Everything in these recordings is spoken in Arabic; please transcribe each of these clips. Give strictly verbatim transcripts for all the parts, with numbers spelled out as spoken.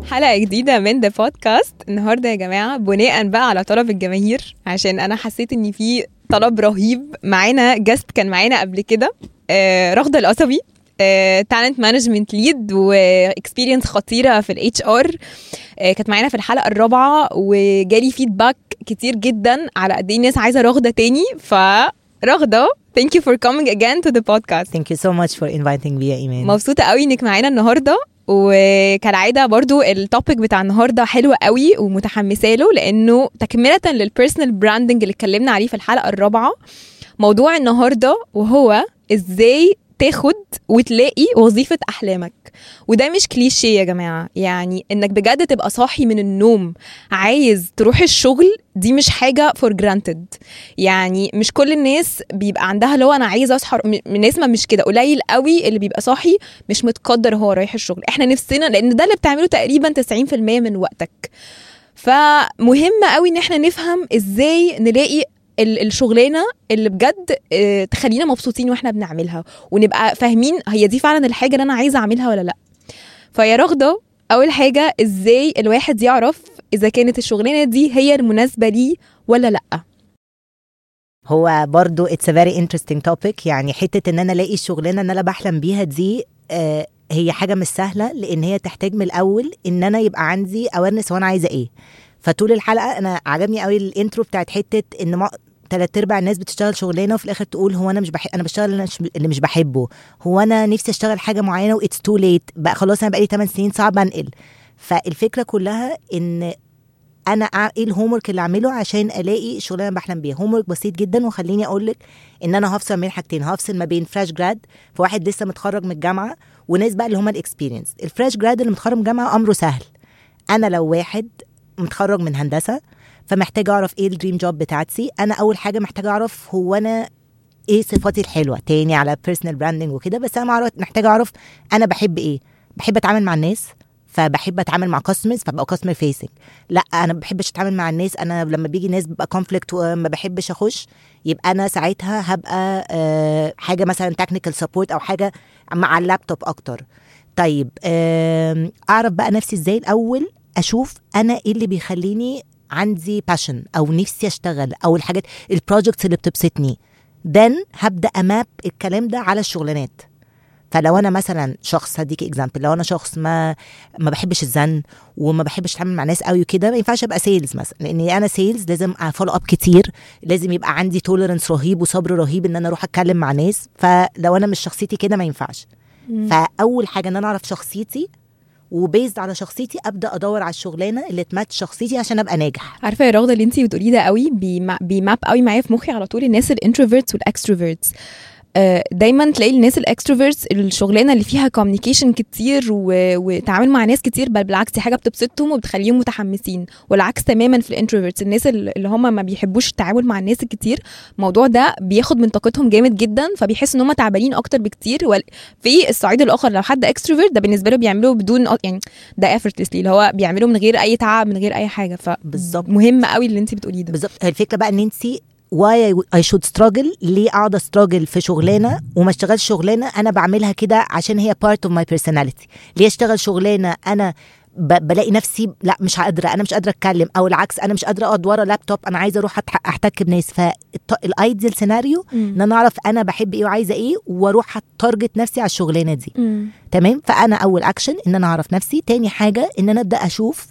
حلقة جديدة من The Podcast. النهاردة يا جماعة بناء بقى على طلب الجماهير، عشان أنا حسيت إن في طلب رهيب. معانا جست كان معانا قبل كده آه رغدة القصبي، تالنت مانجمنت ليد واكسبيرينس خطيرة في الاتش ار. آه كانت معانا في الحلقة الرابعة وجالي فيدباك كتير جدا على قد ايه الناس عايزة رغدة تاني. فرغدة thank you for coming again to the podcast. Thank you so much for inviting me يا إيمان. مبسوطة قوي انك معانا النهاردة، وكالعادة برضو التوبيك بتاع النهاردة حلوة قوي ومتحمسة له، لأنه تكملة للبيرسونال براندنج اللي اتكلمنا عليه في الحلقة الرابعة. موضوع النهاردة وهو ازاي تاخد وتلاقي وظيفة أحلامك. وده مش كليشيه يا جماعة، يعني انك بجد تبقى صاحي من النوم عايز تروح الشغل، دي مش حاجة for granted. يعني مش كل الناس بيبقى عندها لو انا عايزة اصحى، الناس ما مش كده، قليل قوي اللي بيبقى صاحي مش متقدر هو رايح الشغل. احنا نفسنا، لان ده اللي بتعمله تقريبا تسعين في المية من وقتك. فمهم قوي ان احنا نفهم ازاي نلاقي الشغلانه اللي بجد تخلينا مبسوطين واحنا بنعملها، ونبقى فاهمين هي دي فعلا الحاجه اللي انا عايزه اعملها ولا لا. فيا رغده، اول حاجه ازاي الواحد يعرف اذا كانت الشغلانه دي هي المناسبه ليه ولا لا؟ هو برضو it's a very interesting topic. يعني حته ان انا الاقي الشغلانه ان انا بحلم بيها دي آه هي حاجه مش سهله، لان هي تحتاج من الاول ان انا يبقى عندي awareness وانا عايزه ايه. فطول الحلقه انا عجبني قوي الانترو بتاعت حته ان ما ثلاث ارباع الناس بتشتغل شغلانه وفي الاخر تقول هو انا مش بحب، انا بشتغل اللي مش بحبه، هو انا نفسي اشتغل حاجه معينه و it's too late بقى، خلاص انا بقالي ثماني سنين صعب انقل. فالفكره كلها ان انا ايه الهومورك اللي اعمله عشان الاقي شغلانه بحلم بيها. هومورك بسيط جدا، وخليني اقول لك ان انا هفصل بين حاجتين. هفصل ما بين فريش جراد فواحد لسه متخرج من الجامعه، وناس بقى اللي هم الاكسبيرينس. الفريش جراد اللي متخرج من الجامعه امره سهل. انا لو واحد متخرج من هندسه فمحتاجه اعرف ايه الدريم جوب بتاعتي. انا اول حاجه محتاجه اعرف هو انا ايه صفاتي الحلوه، تاني على بيرسونال براندنج وكده. بس انا محتاجه اعرف انا بحب ايه. بحب اتعامل مع الناس فبحب اتعامل مع كاستمرز فبقى كاستمر فيسنج. لا انا ما بحبش اتعامل مع الناس، انا لما بيجي ناس ببقى كونفليكت وما بحبش اخش، يبقى انا ساعتها هبقى أه حاجه مثلا تكنيكال سبورت او حاجه مع اللابتوب اكتر. طيب أه اعرف بقى نفسي ازاي. الاول اشوف انا ايه اللي بيخليني عندي باشن او نفسي اشتغل، او الحاجات البروجكتس اللي بتبسطني. then هبدا اماب الكلام ده على الشغلانات. فلو انا مثلا شخص، هديك اكزامبل، لو انا شخص ما ما بحبش الزن وما بحبش اتعامل مع ناس قوي وكده، ما ينفعش ابقى سيلز مثلا، لاني انا سيلز لازم فولو اب كتير، لازم يبقى عندي توليرنس رهيب وصبر رهيب ان انا اروح اتكلم مع ناس. فلو انا مش شخصيتي كده ما ينفعش. فاول حاجه ان انا اعرف شخصيتي، وبيزد على شخصيتي ابدا ادور على الشغلانه اللي تماتش شخصيتي عشان ابقى ناجح. عارفه يا رغده اللي انتي بتقوليه ده قوي بيماب قوي معايا في مخي على طول. الناس الانتروفيرتس والاكستروفيرتس، دايما تلاقي الناس الاكستروفيرتس الشغلانه اللي فيها كوميونيكيشن كتير وتعامل مع ناس كتير، بل بالعكس دي حاجه بتبسطهم وبتخليهم متحمسين. والعكس تماما في الانتروفيرتس، الناس اللي هم ما بيحبوش التعامل مع الناس الكتير، الموضوع ده بياخد من طاقتهم جامد جدا، فبيحس ان هم تعبانين اكتر بكتير. في الصعيد الاخر لو حد اكستروفيرت ده بالنسبه له بيعملوه بدون يعني ده effortlessly، اللي هو بيعملوه من غير اي تعب من غير اي حاجه. فبالظبط مهم قوي اللي انت بتقوليه ده. بالظبط الفكره بقى ان انت why I should struggle. ليه اقعد استراجل في شغلانه وما اشتغلش شغلانه انا بعملها كده عشان هي part of my personality؟ ليه اشتغل شغلانه انا ب- بلاقي نفسي لا مش قادره، انا مش قادره اتكلم، او العكس انا مش قادره اقعد ورا لابتوب، انا عايزه اروح احتك بناس. فالايديال سيناريو ان انا اعرف انا بحب ايه وعايزه ايه، واروح اتارجت نفسي على الشغلانه دي. م. تمام. فانا اول اكشن ان انا اعرف نفسي. تاني حاجه ان انا ابدا اشوف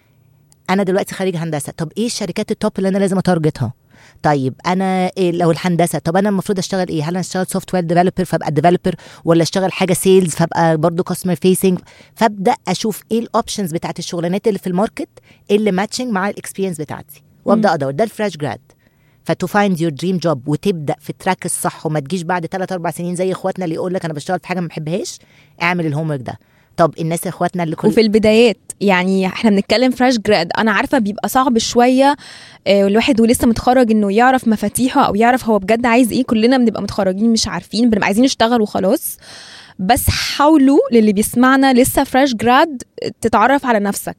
انا دلوقتي خريج هندسه، طب ايه الشركات التوب اللي انا لازم اتارجتها؟ طيب انا إيه لو الهندسه، طب انا المفروض اشتغل ايه؟ هل انا اشتغل سوفت وير ديفلوبر فابقى ديفلوبر، ولا اشتغل حاجه سيلز فابقى برضو كاستمر فيسنج؟ فابدا اشوف ايه الاوبشنز بتاعت الشغلانات اللي في الماركت اللي ماتشنج مع الاكسبيرينس بتاعتي، وابدا ادور. ده الفريش جراد. فتو فايند يور دريم جوب وتبدا في التراك الصح، وما تجيش بعد ثلاثة أربعة سنين زي اخواتنا اللي يقول لك انا بشتغل في حاجه ما بحبهاش. اعمل الهومورك ده. طب الناس اخواتنا اللي كل وفي البدايات، يعني احنا بنتكلم فريش جراد، انا عارفه بيبقى صعب شويه اه الواحد ولسه متخرج انه يعرف مفاتيحه او يعرف هو بجد عايز ايه. كلنا بنبقى متخرجين مش عارفين، بنبقى عايزين نشتغل وخلاص. بس حاولوا للي بيسمعنا لسه فريش جراد تتعرف على نفسك.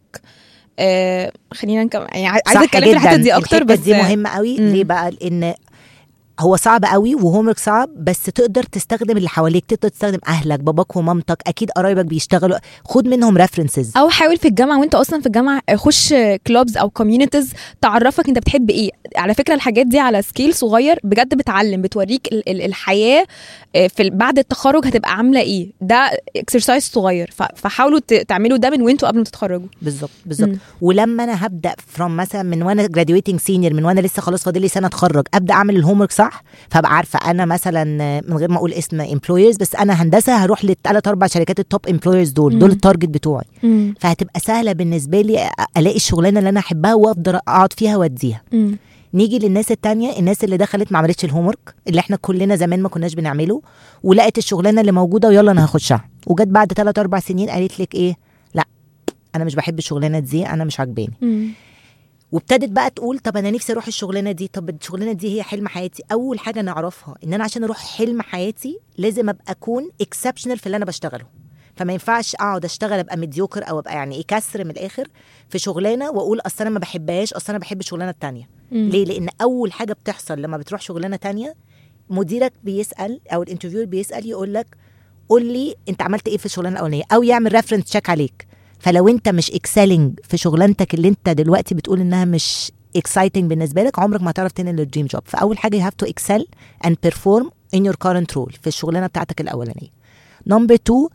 آه خلينا نكمل، يعني عايزه اتكلم في الحته دي اكتر. بس دي مهمه قوي. م. ليه بقى؟ لان هو صعب قوي وهومورك صعب، بس تقدر تستخدم اللي حواليك، تقدر تستخدم اهلك، باباك ومامتك، اكيد قرايبك بيشتغلوا، خد منهم ريفرنسز. او حاول في الجامعه وانت اصلا في الجامعه خش كلوبز او كوميونيتيز تعرفك انت بتحب ايه. على فكره الحاجات دي على سكيل صغير بجد بتعلم، بتوريك ال- ال- الحياه في بعد التخرج هتبقى عامله ايه. ده اكسرسايز صغير، فحاولوا تعملوا ده من وانتوا قبل ما تتخرجوا. بالظبط بالظبط. ولما انا هبدا فروم مثلا من وانا جراديويتنج سينيور، من وانا لسه خلاص فاضل لي سنه اتخرج، ابدا اعمل الهومورك صح، فابقى عارفه انا مثلا من غير ما اقول اسم امبلويرز، بس انا هندسه هروح للثلاث اربع شركات التوب امبلويرز دول، دول التارجت بتوعي. مم. فهتبقى سهله بالنسبه لي الاقي الشغلانه اللي انا احبها وافضل اقعد فيها واديها. مم. نيجي للناس التانية، الناس اللي دخلت ما عملتش الهومورك اللي احنا كلنا زمان ما كناش بنعمله، ولقت الشغلانه اللي موجوده ويلا انا هخشها، وجت بعد ثلاث اربع سنين قالت لك ايه، لا انا مش بحب الشغلانه دي، انا مش عاجباني. وابتدت بقى تقول طب انا نفسي اروح الشغلانه دي، طب الشغلانه دي هي حلم حياتي. اول حاجه نعرفها ان انا عشان اروح حلم حياتي لازم ابقى اكون اكسبشنال في اللي انا بشتغله. فما ينفعش اقعد اشتغل ابقى ميديوكر او ابقى يعني ايه كسر من الاخر في شغلانه واقول اصل انا ما بحبهاش، اصل انا بحب الشغلانه التانية. مم. ليه؟ لان اول حاجه بتحصل لما بتروح شغلانه تانية، مديرك بيسال او الانترفيور بيسال يقول لك قول لي انت عملت ايه في الشغلانه الاولانيه، او يعمل ريفرنس تشيك عليك. فلو انت مش اكسلينج في شغلانتك اللي انت دلوقتي بتقول انها مش اكسايتنج بالنسبه لك، عمرك ما هتعرف تنقل الدريم جوب. فاول حاجه you have to excel and perform in your current role في الشغلانه بتاعتك الاولانيه. نمبر اتنين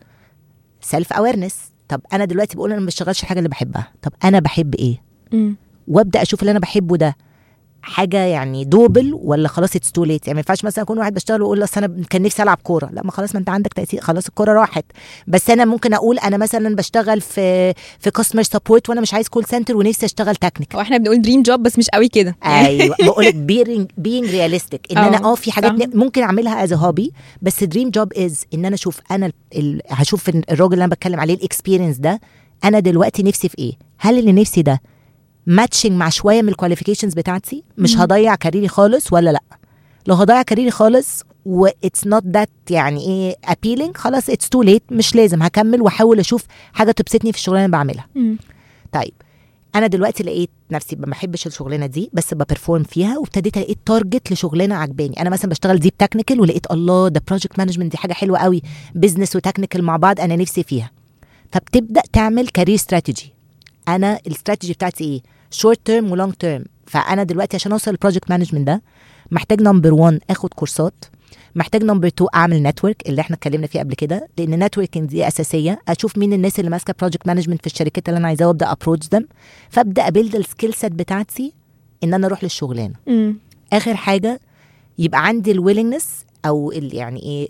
سيلف اويرنس. طب انا دلوقتي بقول انا ما بشتغلش الحاجه اللي بحبها، طب انا بحب ايه؟ م. وابدا اشوف اللي انا بحبه ده حاجه يعني دوبل ولا خلاص اتس تو ليت. يعني ما ينفعش مثلا اكون واحد بشتغل واقول اصل انا كان نفسي العب كوره، لا ما خلاص ما انت عندك تاثير، خلاص الكوره راحت. بس انا ممكن اقول انا مثلا بشتغل في في كاستمر سبورت وانا مش عايز كول سنتر ونفسي اشتغل تكنيك. واحنا بنقول دريم جوب بس مش قوي كده. ايوه بقول لك بينج بينج رياليستيك ان انا اه في حاجات صح. ممكن اعملها از هوبي، بس دريم جوب از ان انا اشوف انا ال... هشوف الراجل اللي انا بتكلم عليه الاكسبيرينس ده انا دلوقتي نفسي في ايه، هل اللي نفسي ده ماتشنج مع شويه من الكواليفيكيشنز بتاعتي، مش مم. هضيع كاريري خالص ولا لا. لو هضيع كاريري خالص و it's not that يعني ايه appealing، خلاص it's too late، مش لازم، هكمل واحاول اشوف حاجه تبسطني في الشغلانه اللي بعملها. مم. طيب انا دلوقتي لقيت نفسي ما بحبش الشغلانه دي بس ببرفورم فيها، وابتديت لقيت تارجت لشغلانه عجباني. انا مثلا بشتغل ديب تكنيكال ولقيت الله ده بروجكت مانجمنت دي حاجه حلوه قوي، بزنس وتكنيكال مع بعض انا نفسي فيها. فبتبدا تعمل كارير استراتيجي. انا الاستراتيجي بتاعتي ايه؟ شورت تيرم ولونج تيرم. فانا دلوقتي عشان اوصل للبروجكت مانجمنت ده محتاج نمبر واحد اخد كورسات، محتاج نمبر اتنين اعمل نتورك اللي احنا اتكلمنا فيه قبل كده، لان نتوركينج دي اساسيه. اشوف مين الناس اللي ماسكه بروجكت مانجمنت في الشركات اللي انا عايزاها وابدا ابروتش ذم، فابدا ابيلد السكيل سيت بتاعتي ان انا اروح للشغلانه. م. اخر حاجه يبقى عندي الويلنجنس او ال يعني ايه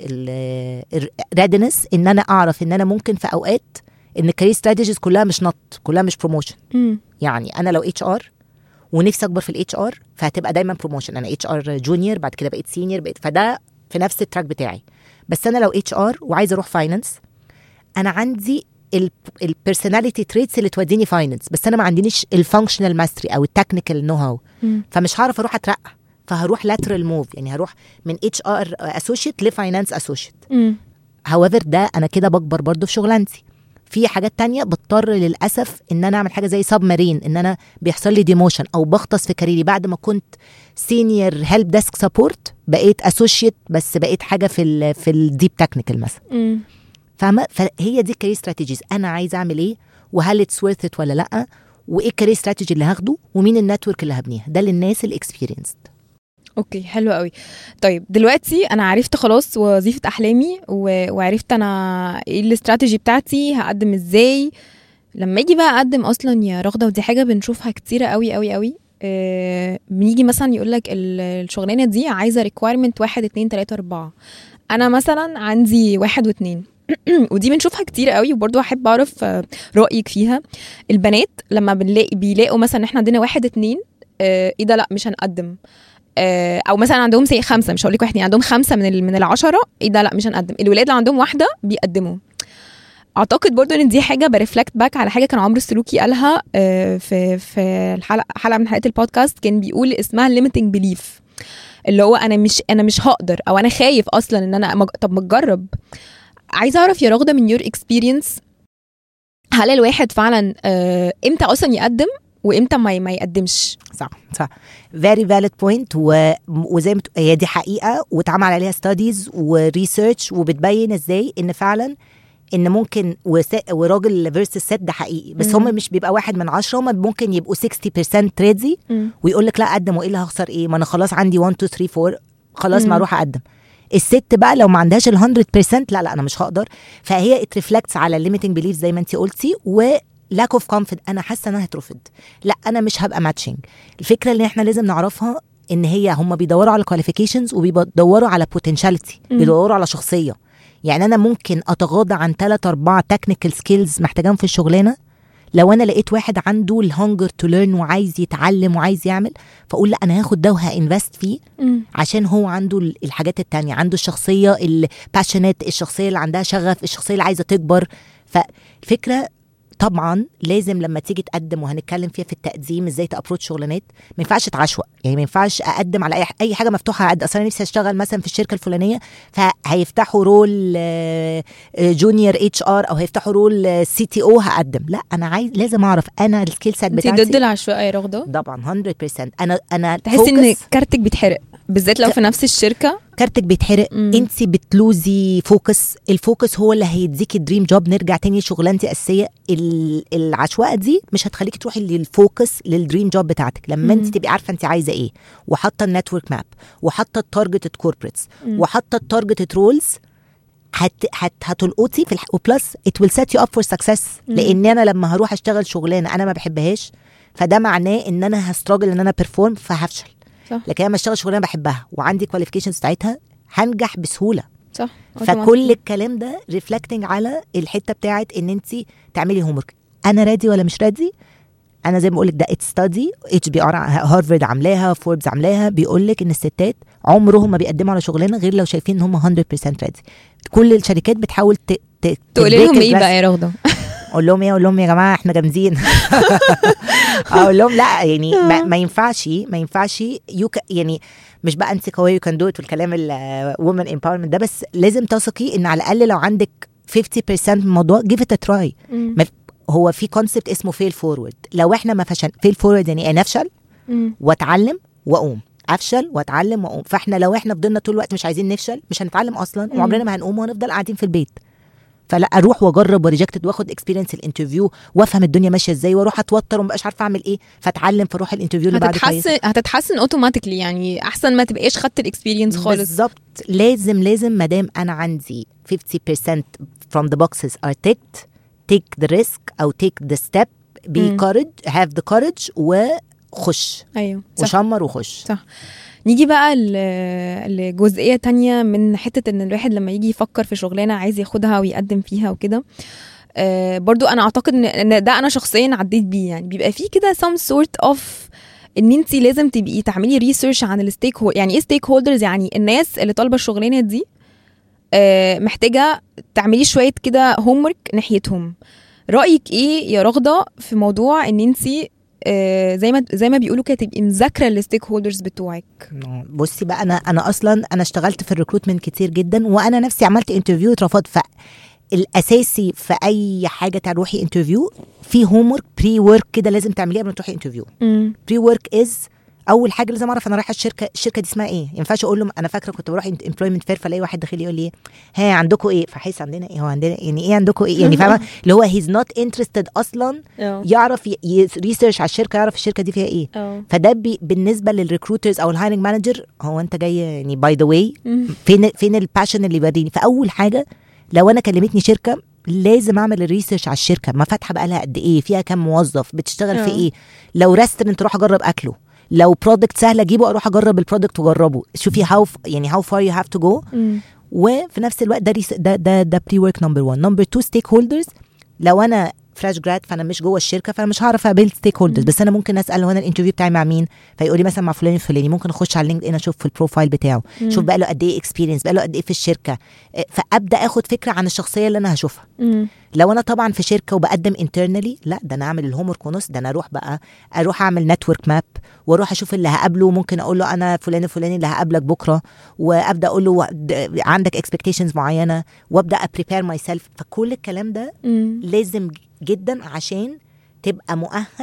الريدنس ان انا اعرف ان انا ممكن في اوقات ان الكارير ستراتيجيز كلها مش نط، كلها مش بروموشن. يعني انا لو اتش ار ونفسي اكبر في الاتش ار فهتبقى دايما بروموشن، انا اتش ار جونيور بعد كده بقيت سينيور بقيت، فده في نفس التراك بتاعي. بس انا لو اتش ار وعايزه اروح فاينانس، انا عندي البيرسوناليتي تريتس اللي توديني فاينانس، بس انا ما عنديش الفانكشنال ماستري او التكنيكال نو هاو، فمش هعرف اروح اترقى، فهروح لاترال موف، يعني هروح من اتش ار اسوشيت لفاينانس اسوشيت. however ده انا كده بكبر برضو في شغلانتي. في حاجات تانية بضطر للأسف ان انا اعمل حاجة زي سب مارين، ان انا بيحصل لي ديموشن او بغطس في كاريري بعد ما كنت سينيور هيلب ديسك سبورت بقيت اسوشيت، بس بقيت حاجة في ال في الديب تكنيكال مثلا. فاهمة؟ فهي دي الكارير استراتيجيز، انا عايزة اعمل ايه وهل اتس ورث ات ولا لا، وايه الكارير استراتيجي اللي هاخده ومين النتورك اللي هبنيها. ده للناس الاكسبيرينسد. اوكي حلو قوي. طيب دلوقتي انا عرفت خلاص وظيفه احلامي و... وعرفت انا ايه الاستراتيجي بتاعتي هقدم ازاي. لما يجي بقى اقدم اصلا يا رغده، ودي حاجه بنشوفها كتيره قوي قوي قوي، آه بنيجي مثلا يقول لك الشغلانه دي عايزه ريكويرمنت واحد اتنين تلاته اربعه، انا مثلا عندي واحد واتنين ودي بنشوفها كتير قوي، وبرضو احب اعرف رايك فيها. البنات لما بنلاقي بيلاقوا مثلا احنا عندنا واحد اتنين، آه ايه ده لا مش هنقدم، او مثلا عندهم سي خمسه، مش هقول لك واحد يعني عندهم خمسه من من العشره، ايه ده لا مش هنقدم. الولاد اللي عندهم واحده بيقدموا. اعتقد برضو ان دي حاجه بريفلكت باك على حاجه كان عمرو السلوكي قالها في في الحلقه حلقه من حلقات البودكاست، كان بيقول اسمها limiting belief، اللي هو انا مش انا مش هقدر او انا خايف اصلا ان انا مج... طب ما تجرب. عايزه اعرف يا رغده من يور اكسبيرينس، هل الواحد فعلا امتى اصلا يقدم وامتى ما ما يقدمش. صح صح very valid point. و... وزي ما هي دي حقيقه واتعمل عليها studies وريسيرش وبتبين ازاي ان فعلا ان ممكن وس... وراجل فيرسس ست ده حقيقي. بس هم مش بيبقى واحد من عشرة، هم ممكن يبقوا ستين بالمية ريدي ويقول لك لا قدم، وايه اللي هخسر ايه، ما انا خلاص عندي واحد اتنين تلاتة اربعة خلاص ما اروح اقدم. الست بقى لو ما عندهاش ال مية بالمية لا لا انا مش هقدر. فهي it reflects على الليميتنج بيليف زي ما انتي قلتي، و lack of confidence. انا حاسه ان انا هترفض، لا انا مش هبقى ماتشنج. الفكره اللي احنا لازم نعرفها ان هي هم بيدوروا على qualifications وبيدوروا على potentiality، بيدوروا على شخصيه. يعني انا ممكن اتغاضى عن ثلاثة أربعة technical skills محتاجاهم في الشغلانه لو انا لقيت واحد عنده الهانجر تو ليرن وعايز يتعلم وعايز يعمل، فاقول لا انا هاخد ده وهانفست فيه م. عشان هو عنده الحاجات التانية، عنده الشخصيه الباشنت، الشخصيه اللي عندها شغف، الشخصيه اللي عايزه تكبر. فالفكره طبعا لازم لما تيجي تقدم، وهنتكلم فيها في التقديم ازاي تابروتش شغلانات، ما ينفعش اتعشوق. يعني ما ينفعش اقدم على اي اي حاجه مفتوحه. اقدم اصلا نفسي اشتغل مثلا في الشركه الفلانيه، فهيفتحوا رول جونيور اتش ار او هيفتحوا رول سي تي او، هقدم. لا انا عايز لازم اعرف انا السكيل سيت بتاعتي. انت ضد العشوائيه يا رغده؟ طبعا مية بالمية. انا انا تحس ان كارتك بيتحرق بالذات لو في نفس الشركه؟ كارتك بيتحرق، انت بتلوزي فوكس. الفوكس هو اللي هيديكي الدريم جوب. نرجع تاني شغلانتي اساسيه. العشوائيه دي مش هتخليكي تروحي للفوكس للدريم جوب بتاعتك. لما انت تبقي عارفه انت عايزه ايه، وحاطه النتورك ماب، وحاطه التارجت كوربريتس، وحاطه التارجت رولز، هت هت هتلقطي في الح... وبلس it will set you up for success. لان انا لما هروح اشتغل شغلانه انا ما بحبهاش، فده معناه ان انا هستراجل ان انا بيرفورم فهفشل. صح. لكن لما اشتغل شغلانه بحبها وعندي كواليفيكيشنز بتاعتها هنجح بسهوله. صح. فكل الكلام ده ريفلكتنج على الحته بتاعت ان انت تعملي هومورك. انا رادي ولا مش رادي؟ انا زي ما بقول لك ده اتس ستادي اتش بي ار هارفارد عاملاها، فوربس عاملاها، بيقول لك ان الستات عمرهم ما بيقدموا على شغلانه غير لو شايفين ان هم مية بالمية رادي. كل الشركات بتحاول ت... ت... تقول لهم ايه بقى يا رغده؟ اقول لهم ايه؟ اقول لهم يا جماعه احنا جامدين. اقول لهم لا يعني ما, ما ينفعش ما ينفعش يوك يعني مش بقى انت قويه يو كان دو ات والكلام الومن امباورمنت ده، بس لازم تثقي ان على الاقل لو عندك خمسين بالمية من الموضوع give it a try. هو في كونسبت اسمه فيل فورورد. لو احنا ما فشل فيل فورورد يعني انا افشل واتعلم واقوم، افشل واتعلم واقوم. فاحنا لو احنا فضلنا طول الوقت مش عايزين نفشل مش هنتعلم اصلا، وعمرنا ما هنقوم وهنفضل قاعدين في البيت. فلا اروح واجرب وريجكتد واخد اكسبيرينس الانترفيو وافهم الدنيا ماشيه ازاي، واروح اتوتر ومبقاش عارفه اعمل ايه، فاتعلم فاروح الانترفيو اللي بعده كويس. هتتحسن هتتحسن اوتوماتيكلي. يعني احسن ما تبقاش خدت الاكسبيرينس خالص. بالظبط. لازم لازم ما دام انا عندي خمسين بالمية from the boxes are ticked, take the risk او take the step, be courage, have the courage وخش. ايوه وشمر وخش. صح. نيجي بقى لجزئية تانية من حتة ان الواحد لما يجي يفكر في شغلانة عايز ياخدها ويقدم فيها وكده. آه برضو انا اعتقد ان ده انا شخصيا عديت بيه. يعني بيبقى فيه كده some sort of ان انتي لازم تبقي تعملي ريسيرش عن الستيك هولدر. يعني ايه ستيك هولدرز؟ يعني الناس اللي طالبة الشغلانة دي آه محتاجة تعملي شوية كده هومورك ناحيتهم. رأيك ايه يا رغدة في موضوع ان انتي آه زي ما زي ما بيقولوا كده تبقي مذاكره الستيك هولدرز بتوعك؟ بصي بقى، انا انا اصلا انا اشتغلت في الريكروتمنت كتير جدا، وانا نفسي عملت انترفيو اترفضت. فالاساسي في اي حاجه تروحي انترفيو في هومورك بري ورك كده لازم تعمليه قبل ما تروحي انترفيو. بري ورك از اول حاجه لازم اعرف انا رايحه الشركه الشركه دي اسمها ايه. ما ينفعش اقول لهم انا فاكره كنت بروح امبلويمنت فير فلاقي واحد داخل يقول لي ها عندكم ايه، فحس عندنا ايه، هو عندنا يعني ايه عندكم ايه، يعني فاهمه اللي هو هيز نوت انترستد اصلا يعرف ريسيرش على الشركه، يعرف الشركه دي فيها ايه. فده بالنسبه للريكروترز او الهايرنج مانجر، هو انت جاي يعني باي ذا واي فين فين الباشن اللي يوريني. فاول حاجه لو انا كلمتني شركه لازم اعمل الريسيرش على الشركه، ما فاتحه بقى لها قد ايه، فيها كام موظف، بتشتغل أوه. في ايه. لو ريستورنت اروح اجرب اكله، لو برودكت سهل اجيبه اروح اجرب البرودكت واجربه، شوفي هاو يعني هاو فار يو هاف تو جو. وفي نفس الوقت ده ده ده, ده بري ورك نمبر واحد. نمبر اتنين ستيك هولدرز. لو انا فريش جراد فانا مش جوه الشركه فانا مش هعرف اقابل ستيك هولدرز، بس انا ممكن اسال هو انا الانترفيو بتاعي مع مين، فيقول لي مثلا مع فلان الفلاني. ممكن اخش على لينكد ان اشوف في البروفايل بتاعه، مم. شوف بقى له قد ايه اكسبيرينس، بقى له قد ايه في الشركه، فابدا اخد فكره عن الشخصيه اللي انا هشوفها. مم. لو انا طبعا في شركه وبقدم انترنالي، لا ده انا اعمل الهوم ورك ونص، ده انا اروح بقى اروح اعمل نتورك ماب واروح اشوف اللي هقابله. ممكن اقول له انا فلان الفلاني اللي هقابلك بكره، وابدا اقول له عندك اكسبكتيشنز معينه، وابدا ابريبير ماي سيلف. فكل الكلام ده مم. لازم جدا عشان تبقى مؤهل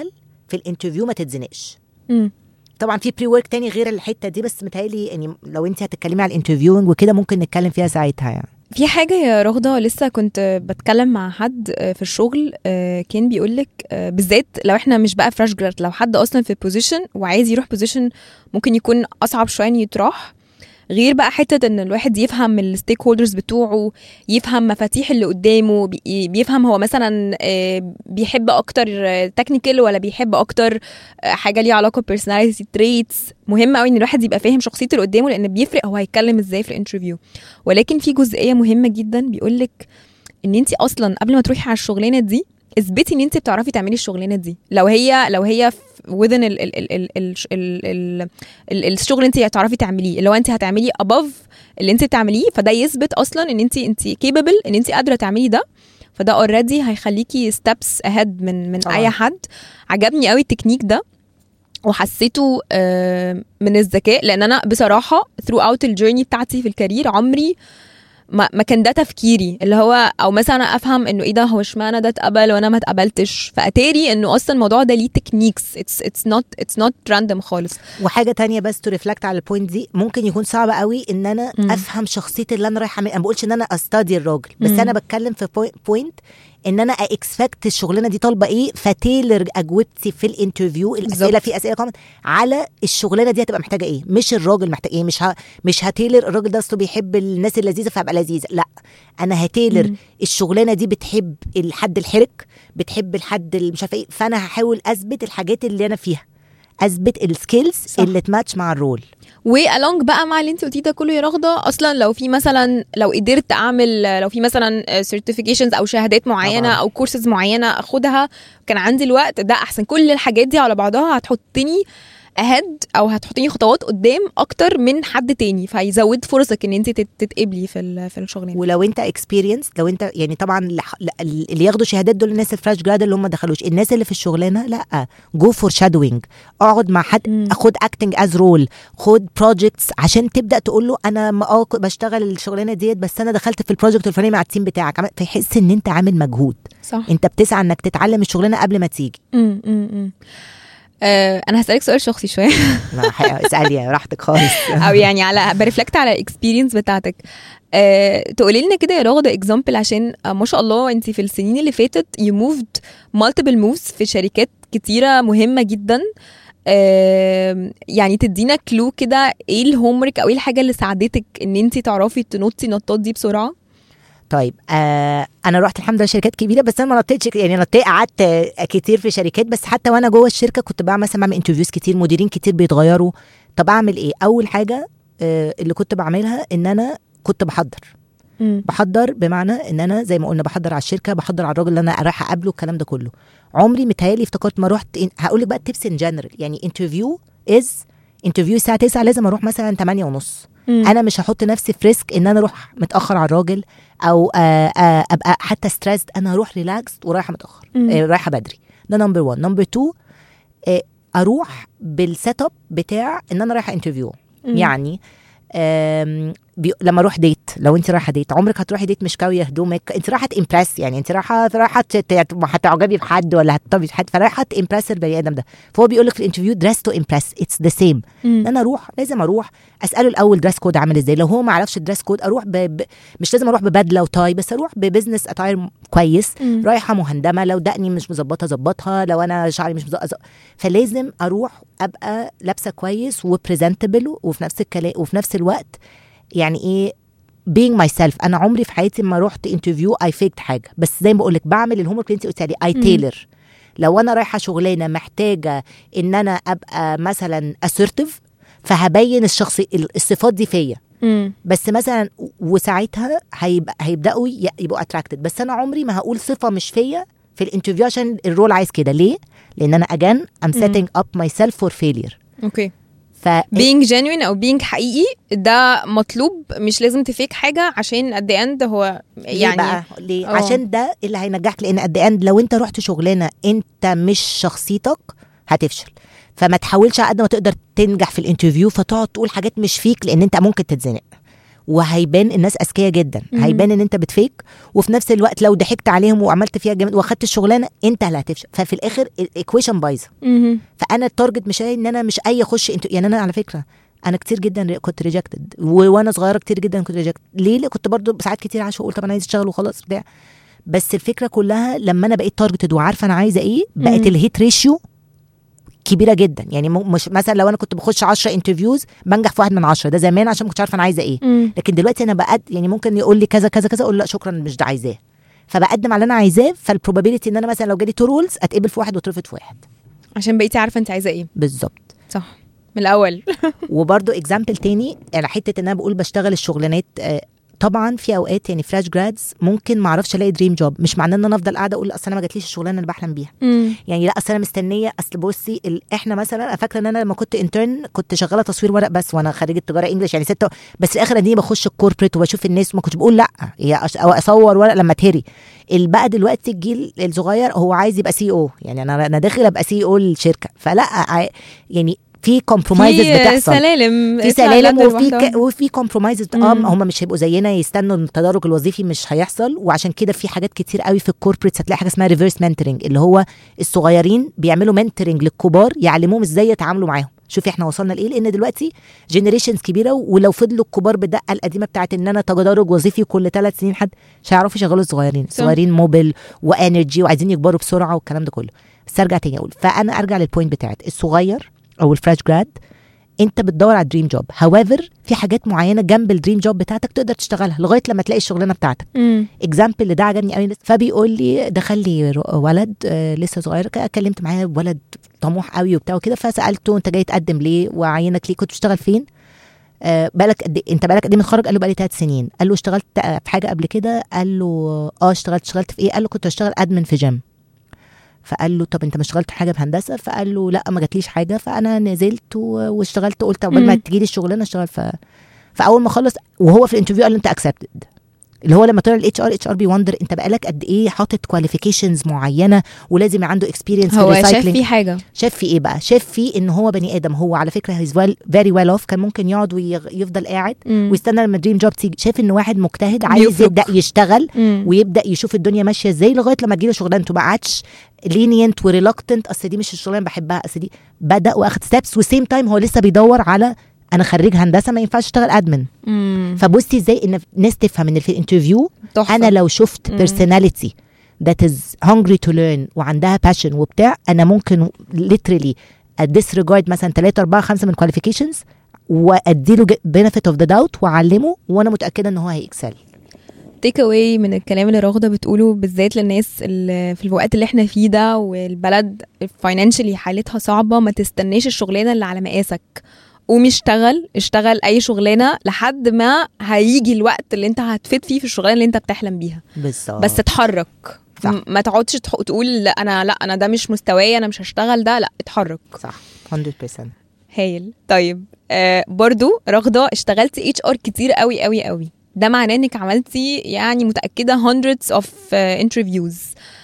في الانترفيو ما تتزنقش. مم. طبعا في بري ورك تاني غير الحته دي، بس متهيألي يعني لو انت هتتكلمي على الانترفيوينج وكده ممكن نتكلم فيها ساعتها. يعني في حاجة يا رغدة لسه كنت بتكلم مع حد في الشغل كان بيقولك بالذات لو احنا مش بقى فريش جراد، لو حد اصلا في بوزيشن وعايز يروح بوزيشن ممكن يكون اصعب شوية يتراح، غير بقى حتة ان الواحد يفهم الستيك هولدرز بتوعه، يفهم مفاتيح اللي قدامه، بيفهم هو مثلا بيحب اكتر تكنيكال ولا بيحب اكتر حاجة ليها علاقة personality traits. مهم قوي ان الواحد يبقى فاهم شخصية اللي قدامه لان بيفرق هو هيتكلم ازاي في الانترفيو. ولكن في جزئية مهمة جدا بيقولك ان انت اصلا قبل ما تروحي على الشغلانة دي اثبتي ان انت بتعرفي تعملي الشغلانه دي. لو هي لو هي within ال ال ال ال ال ال ال الشغل انت هتعرفي تعمليه، اللي هو انت هتعملي above اللي انت بتعمليه، فده يثبت اصلا ان انت انت capable ان انت قادره تعملي ده. فده already هيخليكي steps ahead من من طبعا. اي حد. عجبني قوي التكنيك ده وحسيته من الذكاء، لان انا بصراحه throughout الجيرني بتاعتي في الكارير عمري ما ما كان ده تفكيري، اللي هو او مثلا افهم انه ايه ده، هو اشمعنى ده اتقبل وانا ما اتقبلتش. فاتاري انه اصلا الموضوع ده ليه تكنيكس، اتس اتس نوت اتس نوت راندوم خالص. وحاجه تانية بس تو ريفلكت على البوينت دي، ممكن يكون صعب قوي ان انا م. افهم شخصيه اللي انا رايحه. انا بقولش ان انا استادي الراجل، بس م. انا بتكلم في بوينت ان انا اكسبكت الشغلانه دي طالبه ايه، فتيلر اجوبتي في الانترفيو الاسئله في اسئله كمان على الشغلانه دي هتبقى محتاجه ايه، مش الراجل محتاج ايه. مش ه... مش هتيلر الراجل ده اصله بيحب الناس اللذيذه فهبقى لذيذه، لا انا هتيلر م. الشغلانه دي بتحب الحد الحرك، بتحب الحد اللي مش عارفه ايه، فانا هحاول اثبت الحاجات اللي انا فيها، اثبت السكيلز اللي تماتش مع الرول. والونج بقى مع اللي انت قلتيه ده كله يا رغده، اصلا لو في مثلا لو قدرت اعمل لو في مثلا سيرتيفيكيشنز او شهادات معينه طبعا. او كورسز معينه اخدها كان عندي الوقت ده احسن. كل الحاجات دي على بعضها هتحطني اهد او هتحطيني خطوات قدام اكتر من حد تاني، فيزود فرصك ان انت تتقبلي في في الشغلانه. ولو انت اكسبيرينس، لو انت يعني طبعا اللي ياخدوا شهادات دول الناس الفريش جراد اللي هم ما دخلوش، الناس اللي في الشغلانه لا، جو فور شادوينج، اقعد مع حد م. اخد اكتنج از رول، خد بروجكتس عشان تبدا تقول له انا اه بشتغل الشغلانه ديت بس انا دخلت في البروجكت الفلاني مع التيم بتاعك، فيحس ان انت عامل مجهود صح. انت بتسعى انك تتعلم الشغلانه قبل ما تيجي. م -م -م. أه انا هسألك سؤال شخصي شويه. اسالي راحتك خالص. او يعني على بريفلكت على الاكسبيرينس بتاعتك. أه تقولي لنا كده يا رغده اكزامبل، عشان أه ما شاء الله انت في السنين اللي فاتت يو موفد مالتيبل موفز في شركات كتيره مهمه جدا. أه يعني تدينا كلو كده ايه الهومورك او ايه الحاجه اللي ساعدتك ان انت تعرفي تنطي نطات دي بسرعه؟ طيب آه انا رحت الحمد لله شركات كبيره، بس انا ما نطيتش يعني نطيت قعدت كتير في شركات، بس حتى وانا جوه الشركه كنت بعمل مثلا بعمل انترفيوز كتير، مديرين كتير بيتغيروا. طب اعمل ايه؟ اول حاجه آه اللي كنت بعملها ان انا كنت بحضر م. بحضر بمعنى ان انا زي ما قلنا بحضر على الشركه، بحضر على الراجل اللي انا رايحه اقابله، الكلام ده كله. عمري متهيالي افتكرت ما رحت هقول لك بقى تيبس ان جنرال، يعني انترفيو از انترفيو الساعه تسعة لازم اروح مثلا ثمانية ونص. مم. انا مش هحط نفسي في ريسك ان انا اروح متاخر على الراجل او آآ آآ ابقى حتى ستريسد، انا اروح ريلاكس ورايحه متاخر آه رايحه بدري. ده نمبر واحد. نمبر اتنين آه اروح بالسيت اب بتاع ان انا رايحه انترفيو. يعني بي... لما اروح ديت، لو انت رايحه ديت عمرك هتروحي ديت مش كاويه هدومك، انت رايحه امبرس، يعني انت رايحه رايحه هتعجبي بحد ولا هتطبي بحد، فرايحه امبرس البني ادم ده. فهو بيقول لك في الانترفيو دريس تو امبرس، اتس ذا سيم. انا اروح لازم اروح اساله الاول دريس كود عامل ازاي، لو هو ما عرفش الدريس كود اروح ب... ب... مش لازم اروح ببدله وتاي، بس اروح ببزنس اتاير كويس. مم. رايحه مهندمه، لو دقني مش مظبطه ظبطها، لو انا شعري مش مظبطه، فلازم اروح ابقى لابسه كويس وبريزنتبل، وفي نفس الكلام وفي نفس الوقت يعني ايه being myself. انا عمري في حياتي ما رحت انترفيو اي فيكت حاجه، بس زي ما بقول لك بعمل الهوم ورك اللي انت قلتي عليه، اي تيلر. لو انا رايحه شغلانه محتاجه ان انا ابقى مثلا assertive، فهبين الشخصي الصفات دي فيا، بس مثلا وساعتها هيبقى هيبداوا يبقوا attracted. بس انا عمري ما هقول صفه مش فيا في الانترفيو عشان الرول عايز كده. ليه؟ لان انا again I'm setting up myself for failure. اوكي. ف being genuine او being حقيقي ده مطلوب، مش لازم تفيك حاجه عشان at the end هو يعني ليه بقى؟ ليه؟ أوه. عشان ده اللي هينجحك، لان at the end لو انت رحت شغلانه انت مش شخصيتك هتفشل. فما تحاولش على قد ما تقدر تنجح في الانترفيو فتقعد تقول حاجات مش فيك، لان انت ممكن تتزنق. وهيبان الناس اذكياء جدا، مم. هيبان ان انت بتفيك، وفي نفس الوقت لو ضحكت عليهم وعملت فيها جامد واخدت الشغلانه انت اللي هتفشل. ففي الاخر الايكويشن بايظه. مهم. فانا التارجت مش ان انا مش اي اخش انت يعني. انا على فكره انا كتير جدا كنت ريجكتد، وانا صغيره كتير جدا كنت ريجكتد. ليه؟ ليه كنت برضو ساعات كتير عايشه اقول طب انا عايز اشتغل وخلاص بتاع. بس الفكره كلها لما انا بقيت تارجتد وعارفه انا عايزه ايه، بقت مم. الهيت ريشيو كبيره جدا. يعني مش مثلا لو انا كنت بخش عشرة انترفيوز بنجح في واحد من عشرة، ده زمان عشان ما كنتش عارفه انا عايزه ايه. مم. لكن دلوقتي انا بقد يعني ممكن يقول لي كذا كذا كذا اقول لا شكرا مش ده عايزاه، فبقدم على اللي انا عايزاه. فالبروبابيلتي ان انا مثلا لو جالي تو رولز اتقبل في واحد واترفض في واحد. عشان بقيتي عارفه انت عايزه ايه بالظبط صح من الاول. وبرضو اكزامبل تاني على حته ان انا بقول بشتغل الشغلانات. آه طبعا في اوقات يعني فريش جرادز ممكن ما اعرفش الاقي دريم جوب، مش معناه ان انا افضل قاعده اقول اصل انا ما جاتليش الشغلانه اللي بحلم بيها. مم. يعني لا اصل انا مستنيه. اصل بصي ال... احنا مثلا انا فاكره ان انا لما كنت انترن كنت شغاله تصوير ورق بس، وانا خريجه تجاره انجلش يعني ستة، بس في الاخر دي بخش الكوربريت وبشوف الناس وما كنتش بقول لا هي أش... او اصور ورق لما اتهري. بقى دلوقتي الجيل الصغير هو عايز يبقى سي او، يعني انا انا داخل ابقى سي او الشركه. فلا ع... يعني في كومبرومايزز بتحصل، سلالم في سلالم وفي ك... وفي كومبرومايزز. اه هم مش هيبقوا زينا يستنوا التدرج الوظيفي، مش هيحصل. وعشان كده في حاجات كتير قوي في الكوربريتس هتلاقي حاجه اسمها ريفرس منتورنج، اللي هو الصغيرين بيعملوا منتورنج للكبار يعلموهم ازاي يتعاملوا معاهم. شوفي احنا وصلنا لايه، لان دلوقتي جينيريشنز كبيره، ولو فضلوا الكبار بالدقه القديمه بتاعت ان انا تدرج وظيفي كل ثلاث سنين حد مش هيعرفوا يشغلوا الصغيرين. الصغيرين موبل وانرجي وعايزين يكبروا بسرعه والكلام ده كله. بس ارجع تاني اقول، فانا ارجع للبوينت بتاعت الصغير او الفريش جراد، انت بتدور على دريم جوب. هاويفر في حاجات معينه جنب الدريم جوب بتاعتك تقدر تشتغلها لغايه لما تلاقي الشغلانه بتاعتك. اكزامبل اللي ده عجبني قوي، فبيقول لي دخل لي ولد آه لسه صغير، اتكلمت معاه ولد طموح قوي وبتاع وكده، فسالته انت جاي تقدم ليه وعينك ليه، كنت بتشتغل فين، آه بالك قد انت بالك قد ايه متخرج؟ قال له بقالي ثلاث سنين. قال له اشتغلت في حاجه قبل كده؟ قال له اه اشتغلت. اشتغلت في ايه؟ قال له كنت بشتغل ادمن في جيم. فقال له طب انت ما اشتغلت حاجه بهندسه؟ فقال له لا ما جاتليش حاجه. فانا نزلت واشتغلت، قلت قبل ما تجي لي الشغلانه اشتغل. ف... فاول ما خلص وهو في الانترفيو قال له انت اكسبتد، اللي هو لما طلع الاتش ار اتش ار بيوندر انت بقالك قد ايه حاطط كواليفيكيشنز معينه ولازم عنده اكسبيرينس في الريسايكلينج. هو شاف فيه حاجه، شاف فيه ايه بقى؟ شاف فيه ان هو بني ادم. هو على فكره هيز ويل فيري ويل اوف، كان ممكن يقعد ويفضل قاعد مم. ويستنى لما دريم جوب تيجي. شاف انه واحد مجتهد عايز يبدا يشتغل مم. ويبدا يشوف الدنيا ماشيه ازاي لغايه لما تجيله شغلانته. ما قعدش لينينت وريلكتنت اصل دي مش الشغلانه بحبها، اصل دي بدا واخد ستيبس. وسيم تايم هو لسه بيدور على انا خريج هندسه ما ينفعش اشتغل ادمن. فبصي ازاي ان الناس تفهم ان في الانترفيو انا لو شفت بيرسوناليتي that is hungry to learn وعندها passion وبتاع، انا ممكن literally disregard مثلا ثلاثة أربعة خمسة من qualifications واديله benefit of the doubt واعلمه، وانا متاكده ان هو هيكسل. تيك اواي من الكلام اللي راغده بتقوله بالذات للناس اللي في الوقت اللي احنا فيه ده والبلد فاينانشلي حالتها صعبه، ما تستناش الشغلانه اللي على مقاسك، قوم اشتغل اشتغل اي شغلانه لحد ما هيجي الوقت اللي انت هتفيد فيه في الشغلانه اللي انت بتحلم بيها. بالظبط. بس اتحرك. صح. ما تقعدش تقول لا انا لا انا ده مش مستواي انا مش هشتغل ده، لا اتحرك. صح مية بالمية. هايل. طيب آه برضو راغده اشتغلتي اتش ار كتير قوي قوي قوي، ده معناه انك عملتي يعني متاكده hundreds of uh, interviews.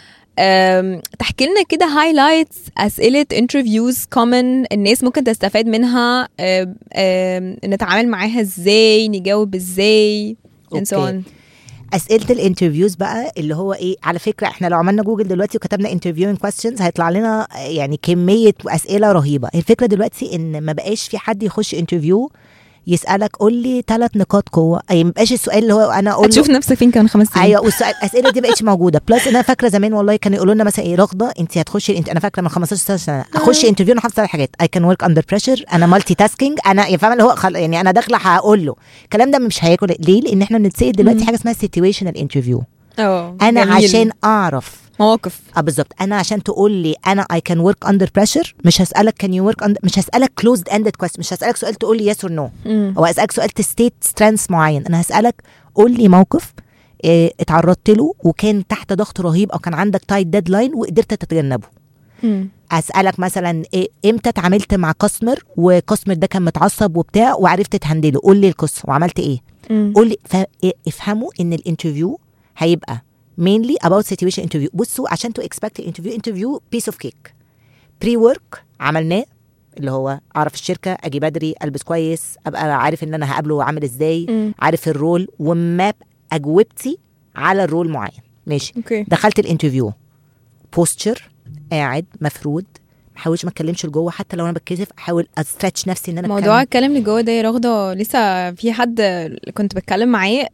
تحكي لنا كده هايلايتس اسئله انترفيوز كومن الناس ممكن تستفاد منها، أم أم نتعامل معاها ازاي، نجاوب ازاي and so on. اسئله الانترفيوز بقى اللي هو ايه، على فكره احنا لو عملنا جوجل دلوقتي وكتبنا انترفيوينج كويستشنز هيطلع لنا يعني كميه اسئله رهيبه. الفكره دلوقتي ان ما بقاش في حد يخش انترفيو يسالك قول لي ثلاث نقاط قوه، اي ما بقاش السؤال اللي هو انا اقول هتشوف نفسك فين كمان خمس سنين. ايوه والسؤال الاسئله دي بقتش موجوده. بلس انا فاكره زمان والله كانوا يقولوا لنا مثلا ايه راغده انت هتخشي انت، انا فاكره من خمستاشر سنه اخش انترفيو انا حافظه على حاجات اي كان ورك اندر بريشر، انا مالتي تاسكينج، انا يعني فاهمه اللي هو خل... يعني انا داخله هقول له الكلام ده مش هياكل. ليه؟ لان احنا بنتسال دلوقتي حاجه اسمها سيتويشنال انترفيو. اه انا جميل. عشان اعرف مواقف اه بالظبط. انا عشان تقول لي انا I can work under pressure مش هسألك can you work under، مش هسألك closed ended question، مش هسألك سؤال تقول لي yes or no مم. او هسألك سؤال تستيت strengths معين. انا هسألك قول لي موقف اه اتعرضت له وكان تحت ضغط رهيب او كان عندك تايت ديدلاين وقدرت تتجنبه. مم. اسالك مثلا إيه امتى اتعاملت مع كاستمر وكاستمر ده كان متعصب وبتاع وعرفت تهندله، قول لي القصه وعملت ايه. مم. قول لي فافهموا ان الانترفيو هيبقى mainly about situation interview. بصوا عشان تو expect interview interview piece of cake pre work عملناه اللي هو اعرف الشركه، اجي بدري، البس كويس، ابقى عارف ان انا هقابله عامل ازاي، م. عارف الرول وماب اجوبتي على الرول معين. ماشي اوكي. دخلت الانترفيو، بوستشر، قاعد مفرود، ما احاولش ما اتكلمش لجوه، حتى لو انا بتكسف احاول استرتش نفسي ان انا موضوع الكلام لجوه ده يا رغده لسه في حد كنت بتكلم معاه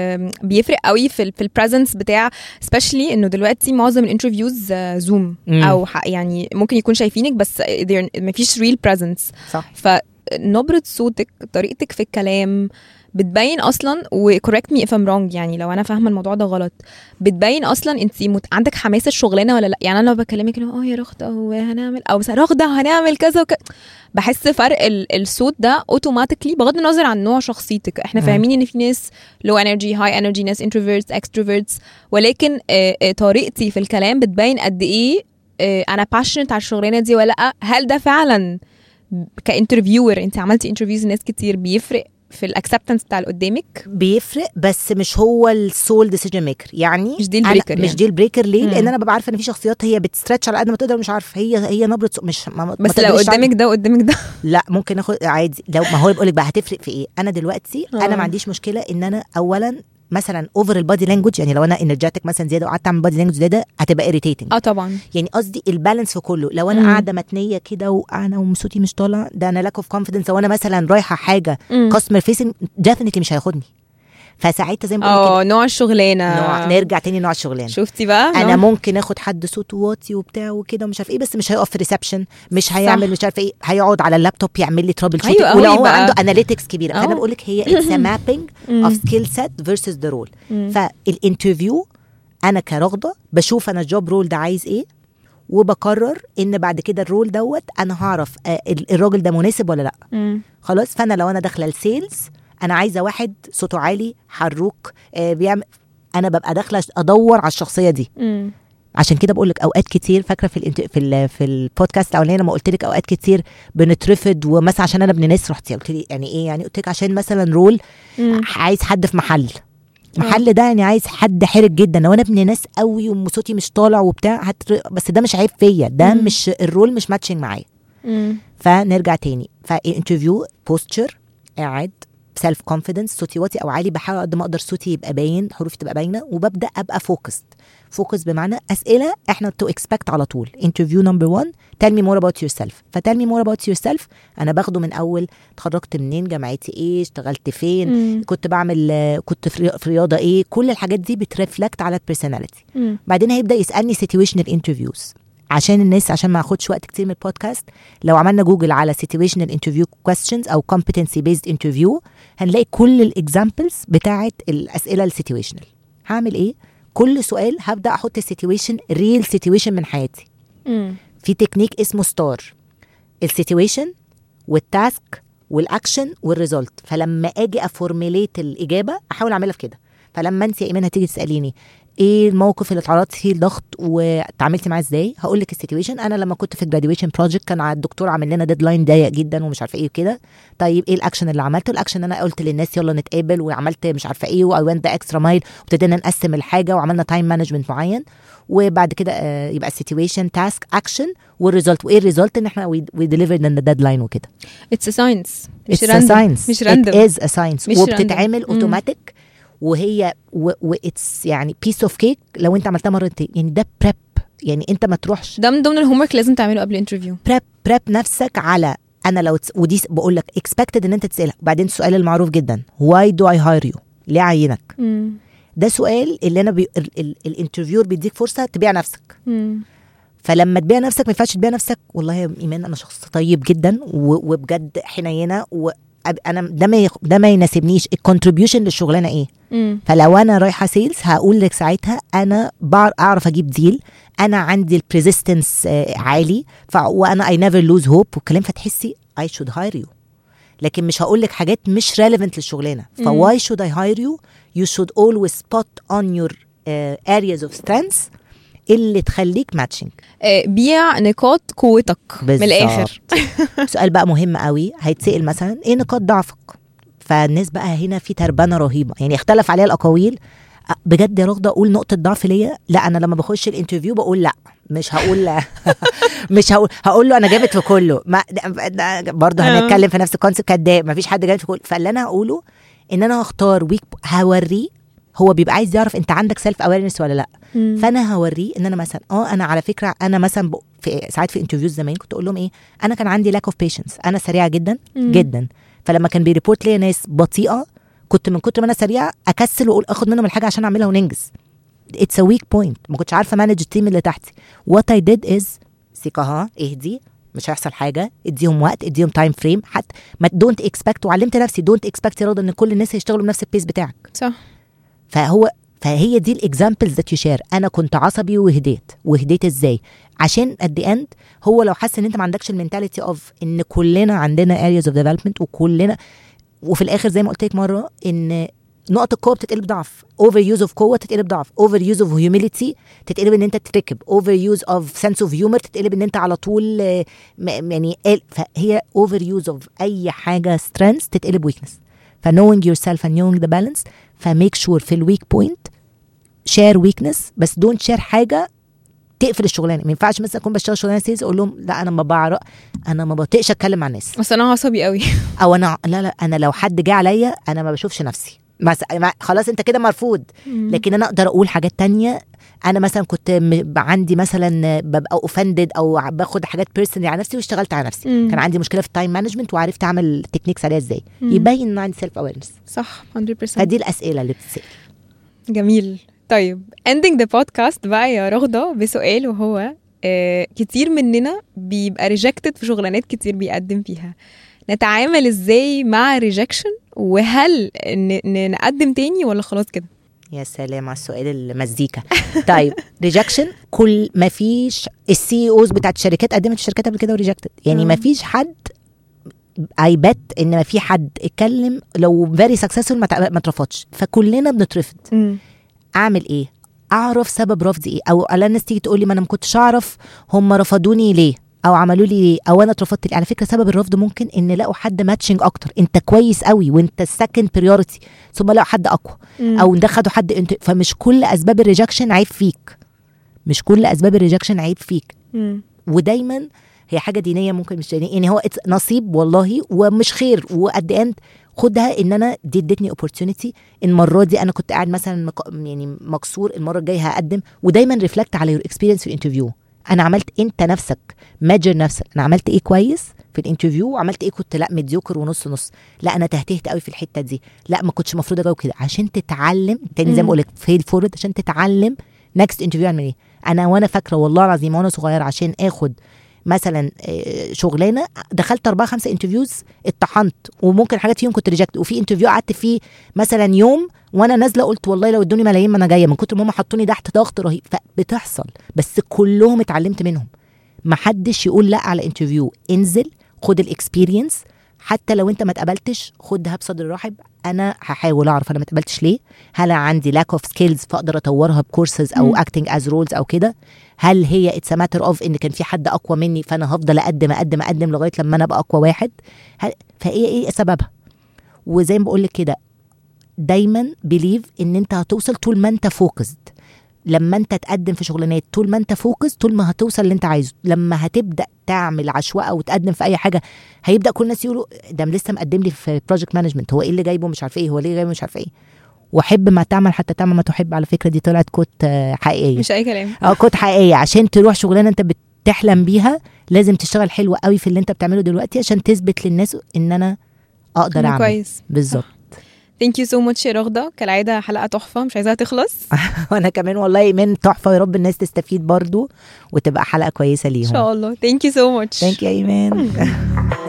بيفرق قوي في في البريزنس بتاع سبيشلي انه دلوقتي معظم الانترفيوز زوم او يعني ممكن يكون شايفينك بس ما فيش ريل بريزنس. صح. فنبره صوتك، طريقتك في الكلام بتبين اصلا، وكوركت مي اف ام رونج يعني لو انا فاهمه الموضوع ده غلط، بتبين اصلا انت مت... عندك حماس الشغلانه ولا لا. يعني انا لو بكلمك اه يا رغده وهنعمل او مثلا رغده هنعمل كذا وكذا، بحس فرق ال... الصوت ده اوتوماتيكلي بغض النظر عن نوع شخصيتك. احنا م. فاهمين ان في ناس لو انرجي، هاي انرجي، ناس انتروفيرتس، اكستروفيرتس، ولكن آه آه طريقتي في الكلام بتبين قد ايه آه انا باشنت على الشغلانه دي ولا لا. هل ده فعلا كانترفيور، انت عملتي انترفيوز ناس كتير، بيفرق في الاكسبتنس بتاع اللي قدامك؟ بيفرق بس مش هو السول ديسيجن ميكر. يعني مش دي البريكر، مش دي البريكر. ليه؟ لان انا ببقى عارفه ان في شخصيات هي بتسترتش على قد ما تقدر، مش عارفه هي هي نبره مش ما بس لو قدامك ده وقدامك ده لا ممكن اخد عادي. لو ما هو بقول لك بقى هتفرق في ايه. انا دلوقتي أوه. انا ما عنديش مشكله ان انا اولا مثلا اوفر البادي لانجوج، يعني لو انا انرجيتك مثلا زياده وقعدت اعمل بادي لانجوج زياده هتبقى irritating. اه طبعا. يعني قصدي البالانس في كله. لو انا قاعده متنيه كده وانا وصوتي مش طالع، ده انا لاك اوف كونفيدنس. وانا مثلا رايحه حاجه كاستمر فيسنج ديفينتلي مش هياخدني. فساعتها زي ما بقول اه نوع الشغلانه، نوع نرجع تاني نوع الشغلانه. شفتي بقى انا نوع. ممكن اخد حد صوته واطي وبتاع وكده ومش عارف ايه، بس مش هيقف في ريسبشن، مش هيعمل مش عارف ايه، هيقعد على اللابتوب يعمل لي ترابل شوتنج. أيوة ولو هو عنده اناليتكس كبيره. فانا بقول لك هي اتس مابينج اوف سكيل سيت فيرسز ذا رول. فالانترفيو انا كرغده بشوف انا الجوب رول ده عايز ايه، وبقرر ان بعد كده الرول دوت انا هعرف الراجل ده مناسب ولا لا. م. خلاص. فانا لو انا داخله السيلز انا عايزه واحد صوته عالي حروك آه بيعمل، انا ببقى داخله ادور على الشخصيه دي. م. عشان كده بقول لك اوقات كتير، فاكره في الانت... في ال... في البودكاست الاولاني لما قلت لك اوقات كتير بنترفض، ومثلا عشان انا ابن ناس رحتي قلت لي يعني ايه، يعني قلت لك عشان مثلا رول م. عايز حد في محل محل ده يعني عايز حد حرج جدا. لو انا ابن ناس قوي وصوتي مش طالع وبتاع هت... بس ده مش عيب فيا، ده م. مش الرول مش ماتشنج معايا. فنرجع تاني. فانترفيو بوستشر، قاعد سيلف كونفيدنس، صوتي واطي او عالي، بحاول قد ما اقدر صوتي يبقى باين، حروفي تبقى باينه، وببدا ابقى فوكسد. فوكس بمعنى اسئله احنا تو اكسبكت على طول. انترفيو نمبر واحد، tell me more about yourself. فتell me more about yourself انا باخده من اول اتخرجت منين، جامعتي ايه، اشتغلت فين، مم. كنت بعمل كنت في رياضه ايه. كل الحاجات دي بترفلكت على البيرسوناليتي. بعدين هيبدا يسالني situational interviews عشان الناس، عشان ما اخدش وقت كتير من البودكاست. لو عملنا جوجل على situational interview questions او competency based interview هنلاقي كل الاكزامبلز بتاعه الاسئله السيتويشنال. هعمل ايه؟ كل سؤال هبدا احط السيتويشن ريل سيتويشن من حياتي. مم. في تكنيك اسمه ستار، السيتويشن والتاسك والاكشن والريزلت. فلما اجي افورميليت الاجابه احاول اعملها في كده. فلما انت يا ايمان هتيجي تساليني ايه الموقف اللي اتعرضتي فيه الضغط وتعاملتي معاه ازاي، هقول لك السيتويشن. انا لما كنت في الجراديويشن بروجكت كان الدكتور عامل لنا ديدلاين ضيق جدا ومش عارفه ايه وكده. طيب ايه الاكشن اللي عملته؟ الاكشن انا قلت للناس يلا نتقابل، وعملت مش عارفه ايه، واي وينت ذا اكسترا مايل، وابتدينا نقسم الحاجه وعملنا تايم مانجمنت معين. وبعد كده آه يبقى السيتويشن، تاسك، اكشن والريزلت. وايه الريزلت؟ ان احنا وي ديليفرد ان ذا ديدلاين وكده. اتس ا ساينس مش راندوم، مش راندوم، ات از ا ساينس، وبتتعمل اوتوماتيك. وهي واتس يعني بيس اوف كيك لو انت عملتها مرتين. يعني ده بريب، يعني انت ما تروحش. ده من ضمن الهوم ورك لازم تعمله قبل الانترفيو. بريب بريب نفسك على انا لو تس... ودي بقول لك اكسبكتد ان انت تسالها. وبعدين السؤال المعروف جدا، واي دو اي هاير يو؟ ليه عينك؟ مم. ده سؤال اللي انا بي... الانترفيور بيديك فرصه تبيع نفسك. مم. فلما تبيع نفسك ما ينفعش تبيع نفسك والله يا ايمان انا شخص طيب جدا و... وبجد حنينه و انا ده ما يخ... ده ما يناسبنيش. الكونتريبيوشن للشغلانه ايه؟ مم. فلو انا رايحه سيلز هقول لك ساعتها انا بعرف اجيب ديل، انا عندي البريزيستنس عالي، ف... وانا اي نيفر لوز هوب والكلام. فتحسي اي شود هاير يو. لكن مش هقول لك حاجات مش ريليفنت للشغلانه. فواي شود اي هاير يو؟ يو شود اولويز سبوت اون يور ارياز اوف سترينث اللي تخليك ماتشنج. بيع نقاط قوتك من الاخر. سؤال بقى مهم قوي هيتسأل مثلا ايه نقاط ضعفك؟ فالناس بقى هنا في تربانه رهيبه، يعني اختلف عليها الاقاويل. بجد يا رغده اقول نقطه ضعف ليا؟ لا انا لما بخش الانترفيو بقول لا مش هقول لا مش هقول هقول له انا جامد في كله. ما برضه هنتكلم في نفس الكونسيبت كداب، ما فيش حد جامد في كله. فاللي انا هقوله ان انا هختار ويك، هوريه هو بيبقى عايز يعرف انت عندك سيلف اويرنس ولا لا. مم. فانا هوريه ان انا مثلا اه انا على فكره انا مثلا في ساعات في انترفيوز زمان كنت اقول لهم ايه، انا كان عندي لاك اوف بيشنس، انا سريعه جدا مم. جدا. فلما كان بيريبورت لي ناس بطيئه كنت من كتر ما انا سريعه اكسل واقول اخد منهم الحاجه عشان اعملها وننجز. اتس ا ويك بوينت، ما كنتش عارفه مانج التيم اللي تحتي. وات اي ديد از سيكاها اهدي، مش هيحصل حاجه، اديهم وقت، اديهم تايم فريم، حتى ما دونت اكسبكت. وعلمت نفسي دونت اكسبكت يا رضا ان كل الناس هيشتغلوا بنفس البيس بتاعك. صح. فهو فهي دي الاكزامبلز ذات يو شير. انا كنت عصبي وهديت. وهديت ازاي؟ عشان ات ذا اند هو لو حس ان انت ما عندكش المينتاليتي اوف ان كلنا عندنا areas of development وكلنا، وفي الاخر زي ما قلت لك مره ان نقطه القوه بتتقلب ضعف، اوفر يوز اوف قوه تتقلب ضعف، اوفر يوز اوف هيوميليتي تتقلب ان انت تتركب، اوفر يوز اوف سنس اوف هيومر تتقلب ان انت على طول يعني. فهي اوفر يوز اوف اي حاجه سترينث تتقلب ويكنس. فنوينج يور سيلف اند نوينج ذا بالانس. فميك شور في الويك بوينت شير ويكنس، بس دونت شير حاجه تقفل الشغلانه. ما ينفعش مثلا اكون بشتغل شغلانه سيلز اقول لهم لا انا ما بعرف، انا ما بطيقش اتكلم مع الناس، بس انا عصبي قوي او انا لا لا انا لو حد جه عليا انا ما بشوفش نفسي مثلا، خلاص انت كده مرفوض. لكن انا اقدر اقول حاجات تانية. انا مثلا كنت م- عندي مثلا ببقى اوفندد او باخد حاجات بيرسونال على نفسي واشتغلت على نفسي. مم. كان عندي مشكله في التايم مانجمنت وعرفت اعمل تكنيكس عليها ازاي. مم. يبين ان عندي سيلف اويرنس. صح مية بالمية. فدي الاسئله اللي بتسال. جميل. طيب ending the podcast بقى يا رغده بسؤال، وهو آه كتير مننا بيبقى ريجكتد في شغلانات كتير بيقدم فيها. نتعامل ازاي مع ريجكشن؟ وهل ن- نقدم تاني ولا خلاص كده؟ يا سلام على السؤال المزيكا. طيب ريجكشن كل ما فيش السي اوز بتاعت الشركات قدمت الشركات قبل كده وريجكتد. يعني ما فيش حد اي بت ان ما في حد اتكلم لو فيري سكسسفول ما اترفضش. فكلنا بنترفض. م. اعمل ايه؟ اعرف سبب رفضي ايه. او على الناس تيجي تقول لي ما انا ما كنتش اعرف هم رفضوني ليه او عملوا لي ليه او انا اترفضت ليه. على فكره سبب الرفض ممكن ان لقوا حد ماتشنج اكتر، انت كويس قوي وانت السكند بريورتي، ثم لقوا حد اقوى. مم. او ده خدوا حد انت. فمش كل اسباب الريجكشن عيب فيك، مش كل اسباب الريجكشن عيب فيك. مم. ودايما هي حاجه دينيه ممكن مش دينيه، يعني هو نصيب والله ومش خير. وقد اند خدها ان انا دي ادتني opportunity. المره دي انا كنت قاعد مثلا مك... يعني مكسور، المره الجايه هقدم. ودايما ريفلكت على يور اكسبيرينس في الانترفيو. انا عملت انت نفسك ماجر نفسك، انا عملت ايه كويس في الانترفيو وعملت ايه كنت لا ميديوكر ونص نص، لا انا تهتهت قوي في الحته دي، لا ما كنتش المفروض اجاوب كده، عشان تتعلم تاني زي ما بقولك فيل فورد، عشان تتعلم نكست انترفيو اعمل ايه. انا وانا فاكره والله العظيم وانا صغير عشان اخد مثلا شغلانه دخلت اربعه خمسه انترفيوز اتطحنت، وممكن حاجات فيهم كنت ريجكت. وفي انترفيو قعدت فيه مثلا يوم وانا نازله قلت والله لو ادوني ملايين ما انا جايه، من كتر ما هم حطوني تحت ضغط رهيب. فبتحصل، بس كلهم اتعلمت منهم. ما حدش يقول لا على انترفيو. انزل خد الاكسبيرينس، حتى لو انت ما اتقبلتش خدها بصدر رحب. انا هحاول اعرف انا ما اتقبلتش ليه، هل عندي لاك اوف سكيلز فاقدر اطورها بكورسز او اكتنج از رولز او كده، هل هي اتس ماتر اوف ان كان في حد اقوى مني فانا هفضل اقدم اقدم اقدم لغايه لما انا ابقى اقوى واحد. فايه ايه سببها؟ وزي ما بقول لك كده دايما بليف ان انت هتوصل طول ما انت فوكسد. لما انت تقدم في شغلانات طول ما انت فوكس طول ما هتوصل اللي انت عايزه. لما هتبدا تعمل عشوائيه وتقدم في اي حاجه هيبدا كل الناس يقولوا ده لسه مقدم لي في بروجكت مانجمنت، هو ايه اللي جايبه مش عارف ايه، هو ليه جايبه مش عارف ايه. وحب ما تعمل حتى تعمل ما تحب. على فكره دي طلعت كوت حقيقيه مش اي كلام. اه كوت حقيقيه. عشان تروح شغلانه انت بتحلم بيها لازم تشتغل حلو قوي في اللي انت بتعمله دلوقتي عشان تثبت للناس ان انا اقدر اعمل كويس. بالظبط. ثانك يو سو ماتش يا رغده، كالعاده حلقه تحفه مش عايزاها تخلص. وانا كمان والله ايمان تحفه، ويا رب الناس تستفيد برضو وتبقى حلقه كويسه ليهم ان شاء الله. ثانك يو سو ماتش. ثانك يو ايمان.